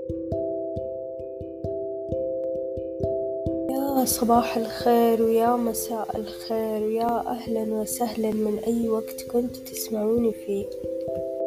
يا صباح الخير ويا مساء الخير ويا أهلا وسهلا من أي وقت كنتوا تسمعوني فيه.